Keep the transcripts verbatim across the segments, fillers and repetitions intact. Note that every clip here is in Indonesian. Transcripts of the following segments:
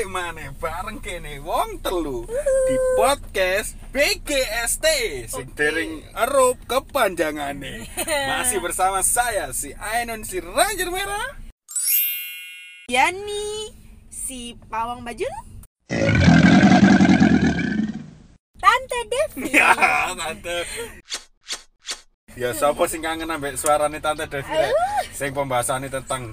balik maneh bareng kene wong telu di podcast B G S T sing dereng erup kepanjangane. Masih bersama saya si Ainun si Ranger Merah, Yani si Pawang Bajul, Tante Devi. ya tante. Ya siapa sing kangen ambek suarane Tante Devi rek? Sing pembahasannya tentang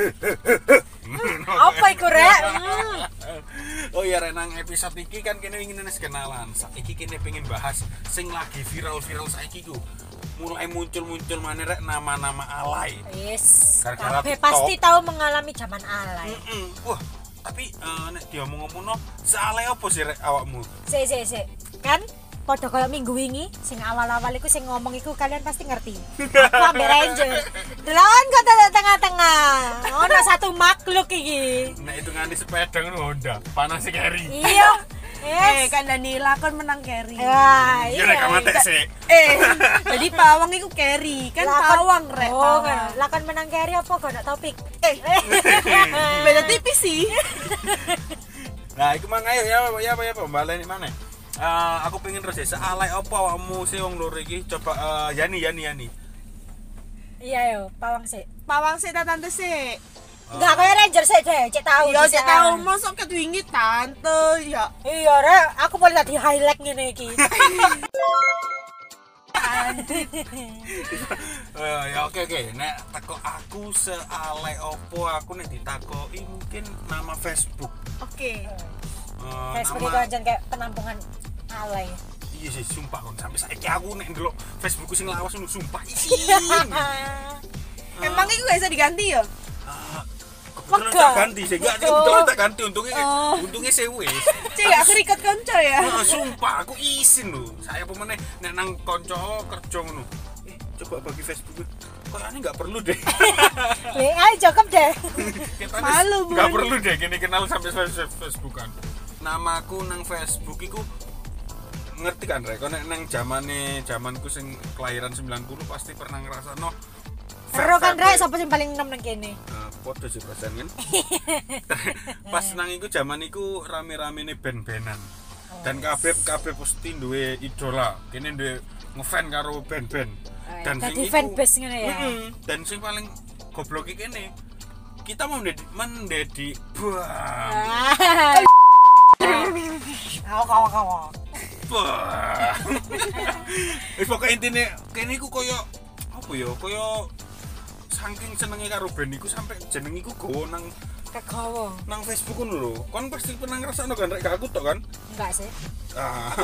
Apa iku rek? Oh iya rek, nang episode iki kan kene ingin nes kenalan. Saiki kene pengen bahas sing lagi viral-viral saiki ku. Mulai muncul-muncul maneh rek nama-nama alay. Yes. Gara-gara Kabeh TikTok. pasti tahu mengalami zaman alay. Heeh. Wah, tapi uh, nek diomong-omongno sealay apa sih rek awakmu? Sik sik sik. Kan padha koyo minggu wingi sing awal-awal iku sing ngomong iku kalian pasti ngerti. Aku ambek Ranger. Delon kok tengah-tengah. Ono satu makhluk iki. Nek itu ngani sepeda ngono Honda, panas sih keri. Iya. eh Yes. kan Danila kan menang carry. Wah, Iya rek kamate sih. Eh, jadi Pawang itu carry, kan Lakon- Pawang rek. Oh, Pawang. kan. Lakon menang carry apa gak ada topik? Eh, beda tipis sih. Nah, iku mang ayo ya ya apa ya pembaleni mana? Uh, aku pengen terus ya sealay apa awakmu sih wong loro iki? Coba uh, Yani Yani Yani. Iya yo, pawang sik. Pawang sih tante sih. Enggak kayak Ranger sih deh, cek tahu. Iya, dhisik. cek tahu mosok ketwingi tante ya. Iya, Rek, aku boleh tadi highlight ngene iki. Uh, ya oke oke. Nek teko aku sealay opo aku nek ditakoki mungkin nama Facebook. Oke. Uh, Facebook itu nama aja kayak penampungan alay. iya sih sumpah kon sampai saiki aku nek ndelok Facebookku sing lawas ngono sumpah isin. Emang itu gak bisa diganti ya? Uh, kebetulan Wega. tak ganti sih, enggak Gitu. kebetulan tak ganti untungnya Oh. untungnya sewe. Cek gak kerikot konco ya? Nah, sumpah aku izin lho. Saya pemeneh nek nang kanca kerja ngono. Eh, coba bagi Facebook. Kayaknya enggak perlu deh. Le, ayo cukup deh. Kita Malu, enggak Bun. perlu deh kini kenal sampai Facebookan. Namaku nang Facebook iku ngerti kan rek, nek nang zamane zamanku sing kelahiran sembilan puluh pasti pernah ngrasakno Ero kan Rek, sapa sing paling enom nang kene? Nah, podo sih persen kan. Pas nang iku zaman iku rame-ramene band-bandan. Dan kabeh kabeh pasti duwe idola. Kene duwe ngefan karo band-band. Dan Dadi iku- fanbase ngene ya. Mm-mm. Dan sing paling goblok iki kene. Kita mau mendedi mendedi bam. Awo kawo kawo. Bah. Wis pokoke intine kene iku koyo apa ya? Koyo saking senenge karo band iku sampai jeneng iku gowo nang Kegawa. nang Facebook ngono lho. Kon pasti pernah ngrasakno kan rek gak aku tok kan? Enggak sih. Ah.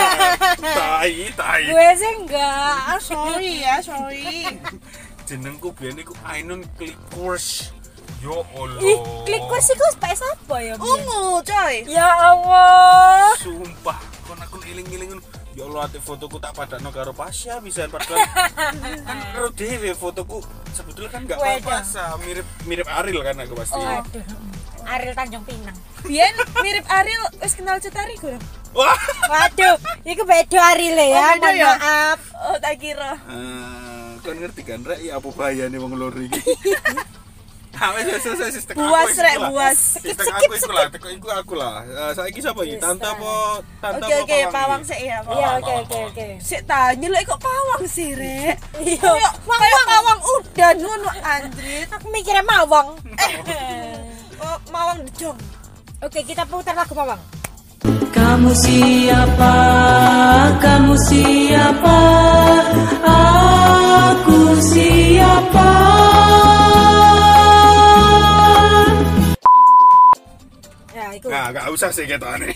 Tai, tai. Gue sih enggak. Ah, sorry ya, sorry. Jenengku biyen iku Ainun Clickers. Yo Allah. Ih, klik kursi ku space apa ya? Bian? Ungu, coy. Ya Allah. Sumpah, kon aku iling-iling ngono. Ya Allah, ate fotoku tak padakno karo Pasha bisa padahal kan ro dhewe fotoku sebetulnya kan enggak Wedo. pas mirip mirip Ariel kan aku pasti. Oh. Aduh. Ariel Tanjung Pinang. Biyen mirip Ariel, wis kenal Cetari gue. Wah. Waduh, iku beda Ariel ya. Oh, beda Mohon ya? maaf. Oh, tak kira. Eh, kon ngerti kan rek ya apa bahayane wong loro iki. Ah, wis wis wis wis tekan Buas, aku Rek, iku lah. buas. Wis tekan aku iku lah, tekan iku aku lah. Eh, saiki sapa iki? Yes, Tante ah. apa tante Oke, apa oke, Pawang iki? sih ya. Iya, Pawang. oke oke oke. Sik tanya lho kok Pawang sih, Rek. Iya. Kayak kayak Pawang udan ngono anjrit. Aku mikirnya mawang. Oh, Mawang dejong. Oke, kita putar lagu mawang. Kamu siapa? Kamu siapa? Aku siapa? Ya, iku. Nah, gak usah sih ketane.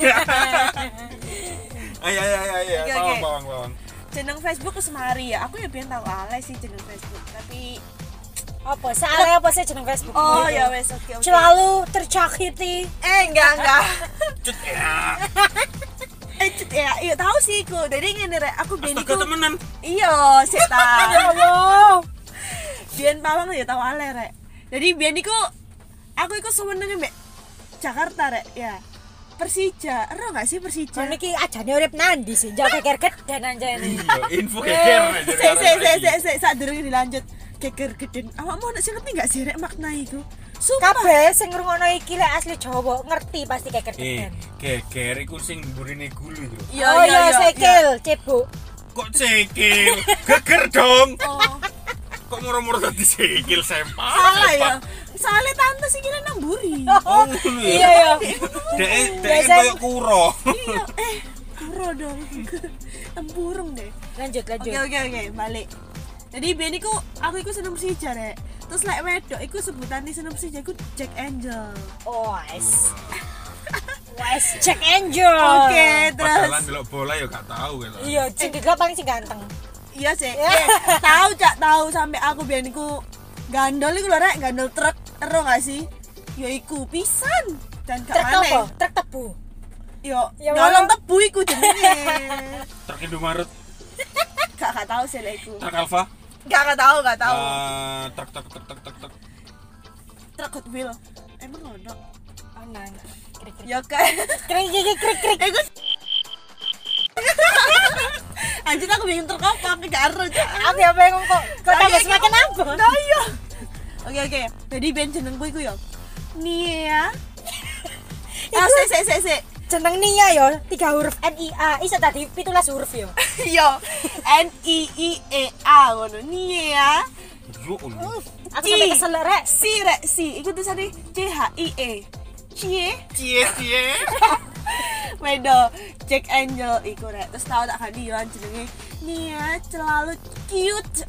Ayo ayo ayo ayo, Oke, bawang oke. bawang bawang. Jeneng Facebook ku Semari ya. Aku ya pengen tahu alay sih jeneng Facebook, tapi Apa? Salah apa sih jeneng Facebook? oh ya wes oke oke. Selalu tercakiti. Eh enggak enggak. Cut ya. Eh cut ya, iya tahu sih ku. Jadi ngene rek, aku biyen Astaga iku temenan. iya sik ta. Ya Allah. Biyen Pawang ya tahu alay rek. Jadi biyen iku aku iku seneng mbek Jakarta rek ya. Persija, ero gak sih Persija? Kon iki ajane urip nandi sih? Jauh keker gedan anjane. Iya, info keker aja. Sik sik sik sik sik sak durung dilanjut. geger geden. Awakmu nek sing ngerti gak sih rek makna iku? Sumpah. Kabeh sing ngrungokno iki lek asli Jawa ngerti pasti kayak Eh, geden. geger iku sing mburine gulu lho. Iya Oh iya iya iya. sikil, cebok. Kok sikil? Geger dong. Oh, Kok moro-moro dadi sikil sempak. salah ya. Soalnya tante sih kira nang buri. Oh, Iya ya. Dek dek Biasa- koyo kuro. Iya, eh kuro dong. Tempurung deh. Lanjut lanjut. Oke oke oke, balik. Jadi biyen iku aku iku seneng Persija rek. Terus lek wedok iku sebutane seneng Persija iku Jack Angel. Oh, wes. Wes Jack Angel. Oke, terus Padahal delok bola ya gak tahu gitu. Iya, sing didelok paling sing ganteng. iya sih. Eh, tahu Cak, tahu sampai aku biyen iku gandol iku lho rek, gandol truk. Ero gak sih? Ya iku pisan. Dan gak Truk apa? maneh. Truk tebu. Yo, Ya, nyolong Bang. tebu iku jenenge. Truk Indomaret, Gak gak tahu sih lek iku. truk Alfa, Gak gak tahu, gak tahu. eh, truk truk truk truk truk truk. Truk Hot Wheel. Emang ono? Oh, nah. Krik-krik. Ya kan. Krik krik krik krik. Eh, gue anjir aku bingung truk apa, aku gak ero Cak. Aku ya bingung kok. Kok tambah semakin apa? Nah iya. Oke oke. Jadi band jenengku iku ya. Nia. Ah, sik sik sik sik. Jeneng Nia yo, tiga huruf N I A. Iso tadi pitulas huruf yo. Yo. N I I E A ngono. Nia. Yo Allah. Aku sampai kesel rek. Si rek si. Iku tulisane C H I E. Cie. Cie cie. Wedo Jack Angel iku rek. Terus tau tak ganti yo jenenge Nia selalu cute.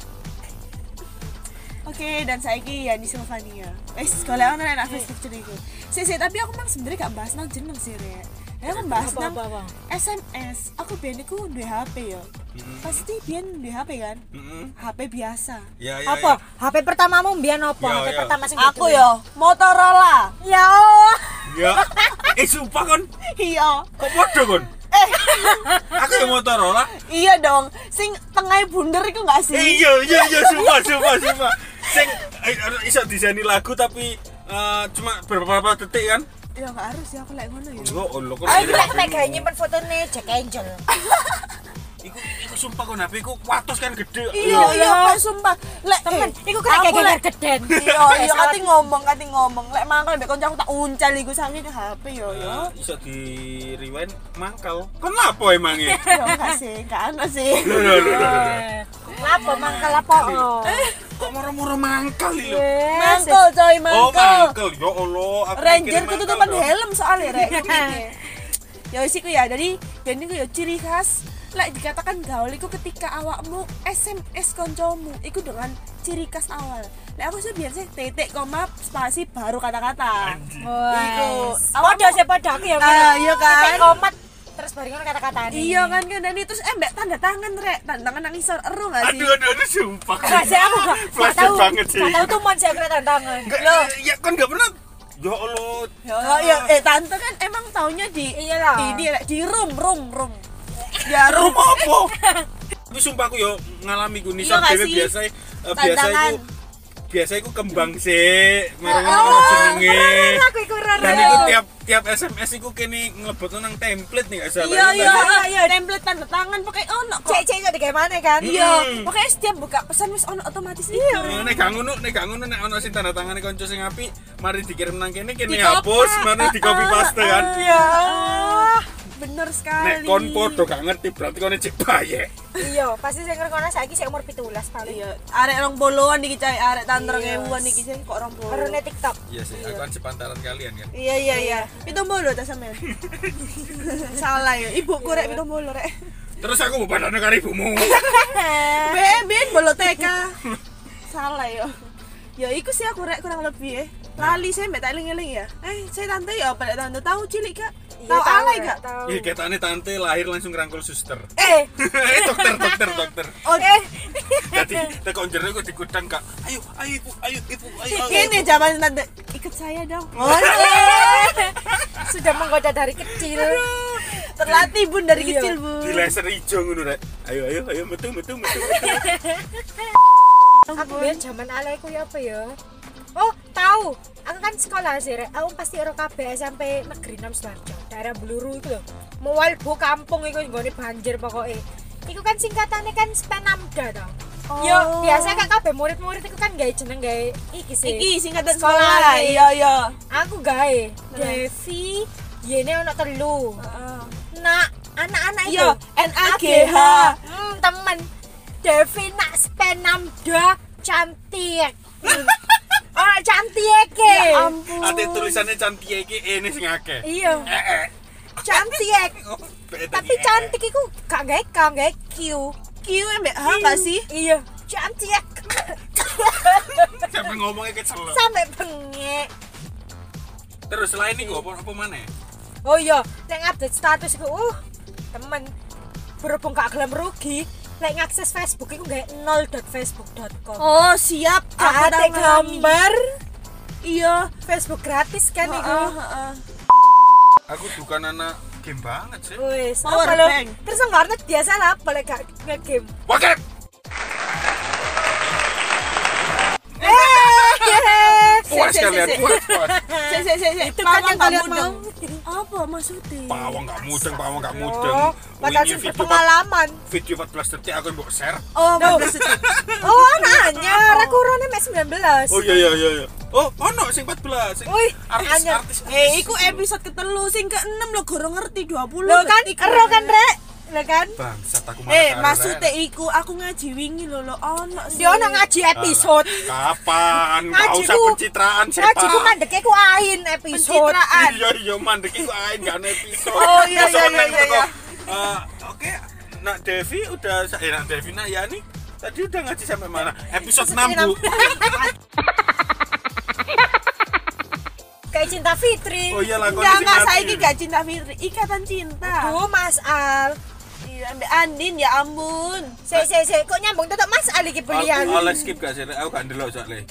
Oke, dan saiki Yani Silvania. Wes, golek ono nek Facebook jenengku. Sik sik, tapi aku mang sebenarnya gak bahas nang jeneng sih, Rek. Ya aku bahas Apa, nang apa, apa? S M S. Aku biyen iku duwe H P ya. Pasti biyen duwe H P kan? Heeh. H P biasa. Ya ya. Apa? H P pertamamu mbiyen apa? Ya, H P ya. pertama sing Aku diduwe? yo Motorola. Ya Allah. Ya. Eh sumpah kon, Iya. kok podo kon? Eh, Aku yang Motorola. iya dong. Sing tengah bunder iku gak sih? Eh, iya iya iya sumpah sumpah sumpah. Sing eh, iso diseni lagu tapi eh, cuma beberapa detik kan? Ya gak harus ya aku lek ngono ya. Yo Allah kok. Aku lek nek gawe nyimpen fotone Jack Angel. Iku iku sumpah kon H P ku watos kan gede. Iya, iya, Pak, sumpah. Lek Temen, eh, iku kena aku geger lek- geden. Iya, iya kati ngomong, kati ngomong. Lek mangkel mbek kancaku tak uncal iku saking H P yo yo. Eh, iso di rewind mangkal. Kon apa emangnya? Ya enggak sih, enggak ono sih. Lho lho lho lho. Lapo mangkel apa? Kok moro-moro mangkal iki lho. Yes. Mangkel coy, Oh, mangkel. mangkel. Ya Allah, aku Ranger mikirin ketutupan mangkal dong. helm soalnya rek. Ya wis iku ya. Jadi ben iku ya ciri khas lek dikatakan gaul iku ketika awakmu S M S koncomu iku dengan ciri khas awal. Lek aku sih biasa titik koma spasi baru kata-kata. Iku. Podo sih podo aku ya. Ah, iya kan? Titik komat terus barengan kata-kata Iya kan kan dan itu terus eh mbak tanda tangan rek, tanda tangan nang isor ero gak sih? Aduh aduh aduh sumpah. Gak sih aku gak gak Flashback tahu. banget sih. Gak tahu tuh mon sih aku tantangan. Enggak, ya kan enggak pernah. Ya Allah. Ya, ya, eh tante kan emang taunya di Iyalah. di di, di room room room. Ya room Rumah apa? Tapi sumpah aku yo ngalami ku Iya nisor nggak dhewe sih? biasa eh, biasa Tantangan. iku biasa iku kembang sih, mereng Oh, ono jenenge. Aku iku ora. Dan iku tiap tiap S M S iku kene ngelebot nang template nih gak salah. Iya iya kan? iya template tanda tangan pakai ono kok. Cek cek iso digawe kan? Iya, Hmm. pokoknya setiap buka pesan wis ono otomatis iya. Nah, nek gak ngono, nek gak ngono nek ono sing tanda tangane kanca sing apik, mari dikirim nang kene kene Di-copy. hapus, mari di copy paste kan. Iya. Bener sekali. Nek kon podo gak ngerti berarti kon cek baye. Iya, pasti sing ngrungokno saiki sik umur pitulas paling. Iya, arek rong poloan iki cai, arek tantrong Iya. ewuan iki sih kok rong polo. Karena TikTok. Iya sih, aku kan sepantaran kalian kan. Iya iya iya. Pitung bolo ta sampean. Salah ya, ibuku rek pitung bolo rek. Terus aku mau padane karo ibumu. Ben ben bolo T K. Salah ya. Ya iku sih aku rek kurang lebih ya. Lali saya mbak tak eling-eling ya. Eh, saya tante ya apa lek tante tahu cilik Kak? Iya, Tahu alay Kak? Tahu. Ih, ketane tante lahir langsung ngrangkul suster. Eh, Eh, dokter, dokter, dokter. Oh, eh. Jadi tekon jero kok dikudang Kak. Ayo, ayo ibu, ayo ibu, ayo. ayo, Ini ibu. zaman tante ikut saya dong. Oh, Sudah menggoda dari kecil. terlatih bun dari Iya. kecil bun. Di laser ijo ngono rek. Ayo, ayo, ayo metu, metu, metu, metu. Aku biar zaman alaiku ya apa ya? Oh, tahu. Aku kan sekolah sih, Rek. Aku pasti ero kabeh S M P Negeri enam Sidoarjo. Daerah Bluru itu lho. Mual bu kampung iku nggone banjir pokoke. Iku kan singkatannya kan Spenamda to. Yo, biasa kan kabeh murid-murid iku kan gawe jeneng gawe iki sih. Iki singkatan Sekolah, sekolah. iki. Iya, iya. Aku gawe Devi, yene ono telu. Heeh. Nak anak-anak itu. Iya, N A G H. Hmm, temen. Devi nak spenamda cantik. Oh, cantik ke. Ya ampun. Ate tulisannya cantik iki ini sing akeh. Iya. Eh, eh. Cantik. Oh, beda Tapi nih, eh. cantik iku gak gawe K, gawe Q. Q mbak H enggak sih? Iya, cantik. Sampai ngomongnya kecel. Sampai bengek. Terus selain itu apa apa mana? Oh iya, nek update status iku uh, temen berhubung gak gelem rugi, lek ngakses Facebook iku gawe nol dot facebook dot com. Oh, siap. Aku Ada tahu gambar Iya. Facebook gratis kan iku. Heeh, heeh. Aku bukan anak game banget sih. Wis, Power apa lo? bank. Terus warnet biasa lah apa lek gak nge-game. Oke. Puas kalian, puas, puas. Si si si si. Itu kan yang kalian mudeng. mau. Apa maksudnya? Pawang gak mudeng, pawang gak mudeng. Oh, padahal Wingi sih video berpengalaman. Video empat belas detik aku mbok share. Oh, Duh. maksudnya. Oh, anaknya, aku urone mek sembilan belas. Oh iya iya iya iya. Oh, ono sing empat belas sing Wih, artis anyar. artis. Eh, iku episode ketelu sing keenam lo gorong ngerti dua puluh. Lo kan ero kan, Rek? Lo kan? Bangsat aku malah. Eh, karo, maksudnya Ren. iku aku ngaji wingi lho lo ono sih. Dia ono ngaji episode. Kapan? Gak Ngajiku- usah pencitraan sih, Ngaji ku Pak. mandeke ku ain episode. Pencitraan. Iya iya mandek iku ae gak ana episode. Oh, iya, Masa iya, neng iya, teko, iya. eh, oke, Nak Devi udah eh Nak Devi Nak Yani tadi udah ngaji sampai mana? Episode enam, Bu. Kayak Cinta Fitri. Oh iya lah Enggak, enggak, saiki gak cinta Fitri, ikatan cinta. Duh, Mas Al. Iya, Mbak Andin ya ampun. Sik sik sik, kok nyambung tetep Mas Al iki belian. Aku oleh skip gak sih? Aku gak ndelok soalnya.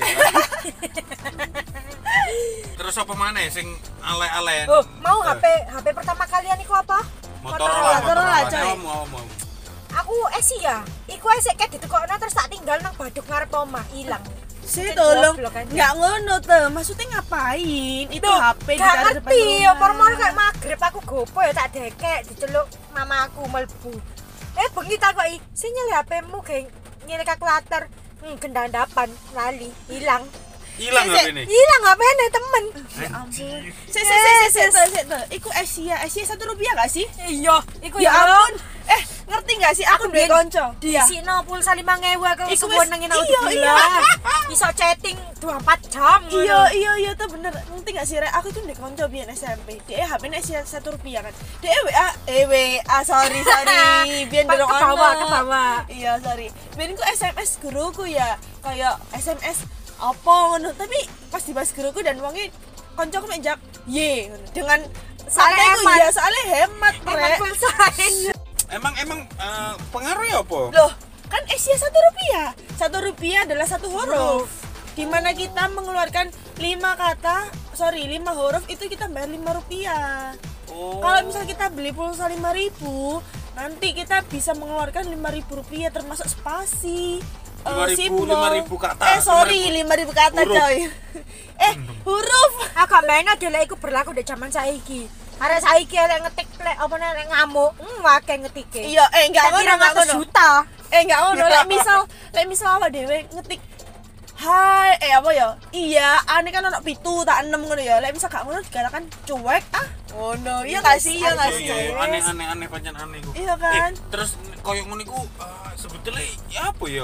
Terus apa mana sing ale-ale? Oh, mau H P H P pertama kalian iku apa? Motorola, Motorola, Motorola. coy. Mau mau mau. Aku esi ya. Iku esek kayak ditekokno terus tak tinggal nang baduk ngarep omah, ilang. Saya Cek tolong, goblok aja. nggak ngono tuh. Maksudnya ngapain? Itu Duh, H P gak ditaruh depan ngerti, rumah. omor-omor kayak magrib aku gopo ya tak dekek diceluk mama aku melbu. Eh bengi takoki, "Sing nyele H P-mu geng nyele kalkulator." Hmm, gendandapan lali, hilang. Hilang Sik, H P sik. ini. Hilang H P-ne temen. Ya ampun. Anjir. Sik sik sik sik sik sik tuh. Iku Asia, Asia satu rupiah gak sih? Iya, iku Ya ampun. Eh, ngerti gak sih? Aku duwe biyen konco. Di Iya. sini pulsa lima ribu aku Iku suwun wis- nang iya, iya, bisa chatting dua puluh empat jam. Iya iya iya tuh bener. Ngerti gak sih Rek? Aku tuh duwe konco biyen S M P. Dia H P-ne Asia satu rupiah kan. Dia W A eh W A sorry sorry. Biyen Pak, dorong ke bawah, ono. ke bawah. Iya sorry. Biyen ku S M S guruku ya kayak S M S apa ngono. Tapi pas dibahas guruku dan wonge koncoku mek jak ye ngono. Dengan Soalnya santai ku hemat. ya soalnya hemat Emang Rek. pulsa. Emang emang eh, pengaruhnya apa? Loh, kan Asia satu rupiah. Satu rupiah adalah satu huruf. Dimana kita mengeluarkan lima kata, sorry lima huruf itu kita bayar lima rupiah. Oh. Kalau misal kita beli pulsa lima ribu, nanti kita bisa mengeluarkan lima ribu rupiah termasuk spasi. eh, lima ribu, simbol. lima ribu kata, Eh sorry, lima lima ribu kata huruf. coy. eh huruf. Agak main adalah iku berlaku di zaman saiki. Arek saiki lek ngetik lek apa lek ngamuk, hmm akeh ngetike. Iya, eh enggak Tak ngono, kira enggak ratus ngono. juta. Eh enggak ngono, lek misal lek misal awak dhewe ngetik hai eh apa ya? Iya, ane kan ono pitu tak enam ngono ya. Lek misal gak ngono dikatakan cuek ah. Ngono. Iya gak sih? Iya gak Iya, sih? iya, iya. aneh aneh aneh pancen aneh iku. Iya kan? Eh, terus koyo ngono iku eh, sebetulnya ya apa ya?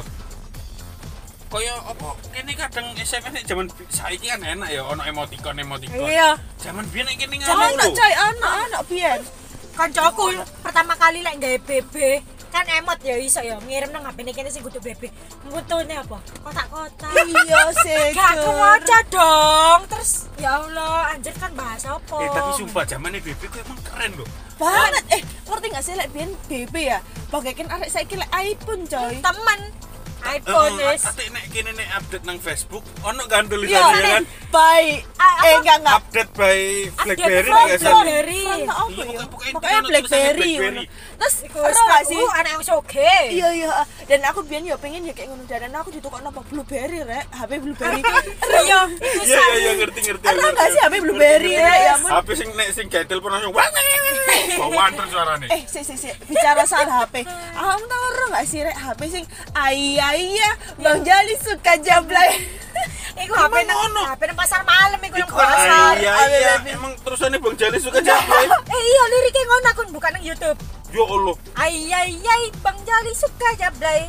Koyo apa kene kadang S M S nek zaman saiki kan enak ya ono emoticon emoticon. Iya. Zaman biyen nek kene Sama ngono anak lho. coy, anak anak biyen. Kancaku pertama kali lek gawe B B kan emot ya iso ya ngirim nang H P-ne kene sing kudu B B. Mutune apa? Kotak-kotak. Iya sih. Gak kewaca dong. Terus ya Allah, anjir kan bahasa apa? Eh tapi sumpah zamane B B ku emang keren loh. banget. Eh, ngerti gak sih lek biyen B B ya? Bagaikan arek saiki lek iPhone coy. temen iPhone Eh, wis. ate nek kene nek update nang Facebook ono kan Iya, tulisannya kan by Ah, eh apa? enggak enggak. update by BlackBerry by nggak sih? BlackBerry. Frontal apa Iya, ya? pokoknya- Pokoknya pokoknya BlackBerry. tulisannya ngono. Terus Iku ero wis gak sih? aku anak wis oke. Iya iya, dan aku biyen ya pengen ya kayak ngono dan aku ditukokno apa Blueberry rek, H P Blueberry. Iya, iku Iya iya iya ngerti ngerti. Ada ngerti, nggak sih ngerti. H P Blueberry Ngerti, ngerti. ya? Ya ampun. H P sing nek sing gatel pernah langsung wah. bawaan terus suarane. Eh, sik sik sik, bicara soal H P. Kamu tahu ora enggak sih rek H P sing iya iya Bang Jali suka jablay. Iku H P nang H P nang pasar malam iku nang Iku pasar. iya iya emang terusane Bang Jali suka jablay. Eh iya liriknya ngono aku buka nang YouTube. Ya Allah. Ay ay ay Bang Jali suka jablay.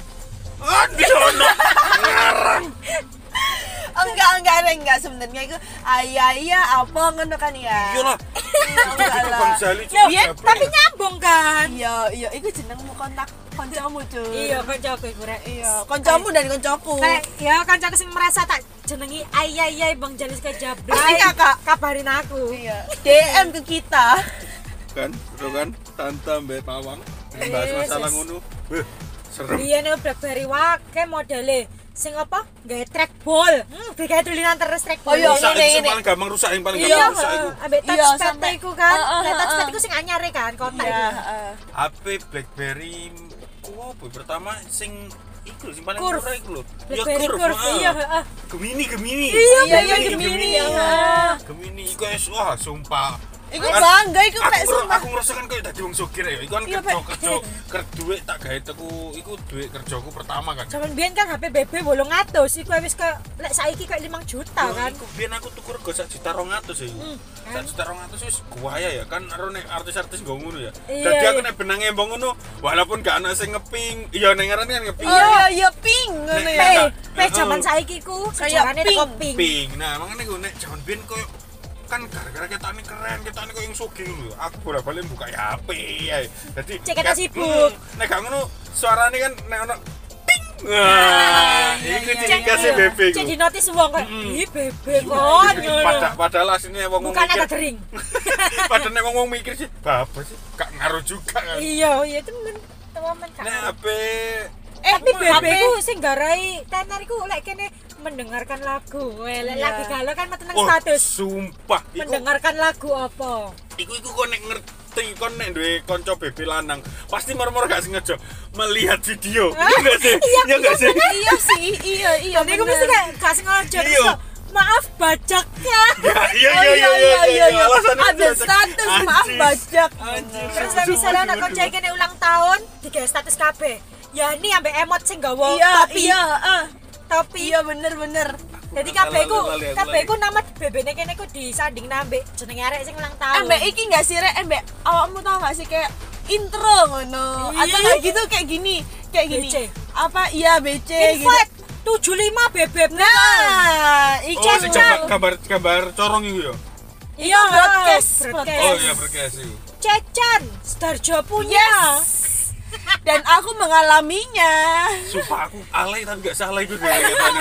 Aduh ono ngarang. Enggak enggak enggak, enggak sebenarnya itu iya iya apa ngono kan ya. Iya lah. Enggak Itu lah. Bang Jali Loh, suka jablay. tapi nyambung kan? Iya iya iku jenengmu kontak kancamu cuy. Iya, kancaku iku rek. Iya, kancamu dan kancaku. Kayak ya kancaku sing merasa tak jenengi ay ay ay Bang Jali suka jablay. Pasti kakak. Kabarin aku. Iya. D M ke kita. Kan, bro kan, tante mbak pawang bahas Yes, masalah yes. ngono. Beh, serem. Iya nih BlackBerry wake modele sing apa? Gawe trackball. Hmm, gawe tulisan terus trackball. Oh, iya. Rusak ini, itu ini. paling gampang rusak, yang paling Iya, gampang rusak itu. ambek Iya, touchpad sampai- iku kan. Heeh, Nah, touchpad heeh. iku sing anyar kan, kotak Iya, iku. heeh. H P BlackBerry ku apa pertama sing iku lho, sing paling Curve. murah iku lho. Ya BlackBerry Curve. Curve, heeh. iya, heeh. Gemini, Gemini. Iya, Iya, iya, Gemini, Gemini. heeh. Gemini iku es wah sumpah. Iku Kan bangga iku aku, Pak ngeru- sumpah. aku ngerasakan kayak dadi wong sugih ya. Iku kan Iya, kerja Pak. kerja ker duit tak gawe teku iku duit kerjaku pertama kan. Zaman biyen kan H P B B wolong atus, iku wis ke lek saiki kayak lima juta Yo, kan. Iku biyen aku tuku rego sak juta rong atus ya. Hmm, Sak kan? juta rong atus wis guaya ya kan karo nek artis-artis nggo ngono ya. Iya, Dadi aku iya. nek benang embong ngono walaupun gak ana sing ngeping, iya ning ngaran kan ngeping. Iya, iya ping ngono Nek- P, ya. P zaman saiki ku Kayak sejarahnya pink. teko pink. Ping. Nah, makanya gue nek jaman biyen koyo kan gara-gara ketane keren, ketane koyo yang sugih lho. Aku bolak-balik buka H P ya. Dadi Cek kita ket- sibuk. Hmm, nek gak ngono suarane kan nek ono ping. Wah, iku ciri khasnya B B ku. Jadi notice wong kok, Mm-mm. ih B B kon. Padahal padahal asline wong Bukan mikir. ada dering. Padahal nek wong mikir sih, apa sih? Gak ngaruh juga kan. Iya, iya temen. Temen kan. Nek H P Eh, tapi B H B P ku sing garai tenar iku lek kene mendengarkan lagu. Weh, lek Iya. lagi galau kan meten nang oh, status. sumpah iku Mendengarkan lagu apa? iku iku kon nek ngerti kon nek duwe kanca B B lanang pasti moro-moro gak sengaja melihat video. Iya enggak sih? Iya, Iya enggak sih? Iya sih, iya iya. Jadi aku mesti kayak gak sengaja terus Iya. kok, maaf bajaknya. Ya, iya Oh iya iya iya iya. iya. Alasannya Ada itu. status maaf Anjis. bajak. Anjis. Terus lah misalnya anak konco kene ulang tahun, digawe status kabeh. Ya ini ambek emot sing gawa Iya, topi. iya, heeh. Topi. Iya bener bener. Jadi Lali, kabeh ku, lali, aku kabeh lali. ku nama B B-ne kene ku disanding nambek jenenge arek sing ulang tahun. Embek iki enggak sih rek, embek awakmu tau gak sih kayak intro ngono Iya. atau kayak gitu kayak gini, kayak gini. B C. Apa iya B C gitu. Invite tujuh puluh lima bebek. Nah, Oh, iki sing Chan. gambar gambar gambar corong iku ya. Iya, broadcast, broadcast. Oh iya berkes iku. Cecan, Starjo punya. Dan aku mengalaminya. Sumpah aku alay tapi gak salah itu deh katanya.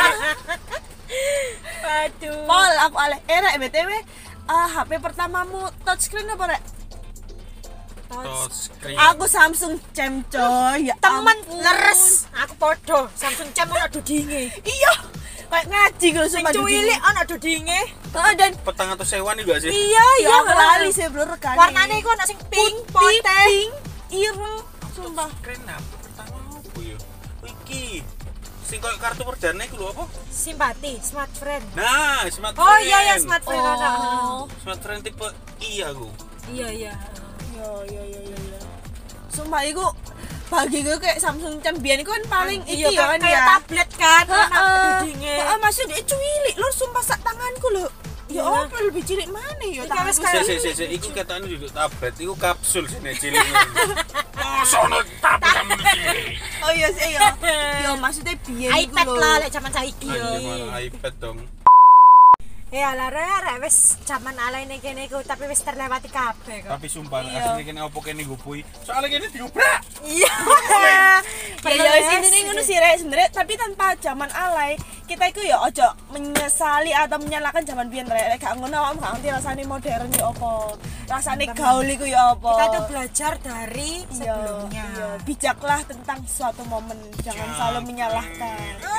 Waduh. Pol aku aleh. Eh rek B T W ah, H P pertamamu touchscreen apa rek? Touchscreen. Aku Samsung Cem coy. Ya Temen ampun. leres. Aku podo Samsung Cem ono dudinge. Iya. Kayak ngaji gitu Sing sumpah. cuwilik ono dudinge. Heeh dan Petang atau sewan juga sih. Iya, ya iya aku lali sih blur kan. Warnane iku ono sing pink, putih, putih. pink, ireng, sumpah. Touchscreen apa pertama apa ya? Oh, iki. Sing koyo kartu perdana iku lho apa? Simpati, smart friend. Nah, smart Oh friend. iya ya smart friend ono. Oh. Smart friend tipe I aku. Iya iya. Iya iya iya iya. iya. Sumpah iku bagi gue kayak Samsung Cem biyen iku kan paling Iya iki ya kan kayak ya. tablet kan, ono Heeh. dudinge. Heeh, maksud dia cuwilik lho sumpah sak tanganku lho. Ya Iya. apa lebih cilik mana ya Iki tanganku. wis Si kayak- si si si iku katanya duduk tablet, iku kapsul sini cilik. Oh, sono tablet kamu cilik. Oh iya sih iya. Ya maksudnya biyen iku iPad lho. lah lek zaman saiki yo. Anjir malah iPad dong. Eh ala rek wis zaman alaine kene iku tapi wis terlewati kabeh kok. Tapi sumpah Iya. asline kene opo kene ngupui. Soalnya kene diubrak. Iya. Ya ya wis ini ngono sih rek sebenarnya tapi tanpa zaman alay kita itu ya ojo menyesali atau menyalahkan zaman biyen rek gak ngono awakmu gak ngerti rasane modern ya apa rasane gaul iku ya apa Kita tuh belajar dari Iya, sebelumnya. iya. Bijaklah tentang suatu momen jangan selalu menyalahkan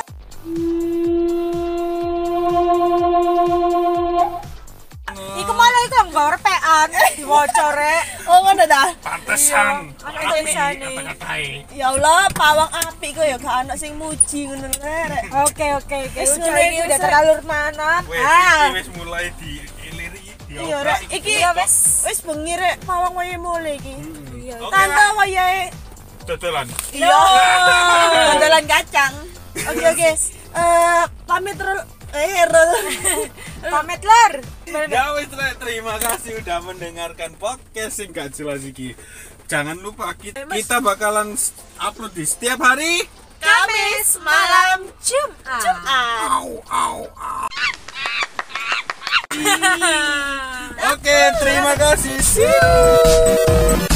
Iku malah iku yang bawa repean diwaca rek. oh ngono dah Pantesan. Iya, ada Api tulisannya. kata-katai. ya Allah pawang api kok ya gak ana sing muji ngono rek Oke oke oke. Wis Udah mulai, ini wis udah mulai. terlalu mana? Wes Ah. iki wis mulai di iliri di Iya rek, iki Iya wis. wis bengi rek pawang wayahe mulai iki. Iya. Oke Tante lah, wayahe. dodolan. Iya. Dodolan kacang. Oke oke. Eh pamit rul eh rul. Pamit lor. Ya wis Rek, terima kasih udah mendengarkan podcast sing gak jelas iki. Jangan lupa kita, kita bakalan upload di setiap hari. Kamis malam Jumat. Jumat. Au au au. Oke, terima kasih. See you.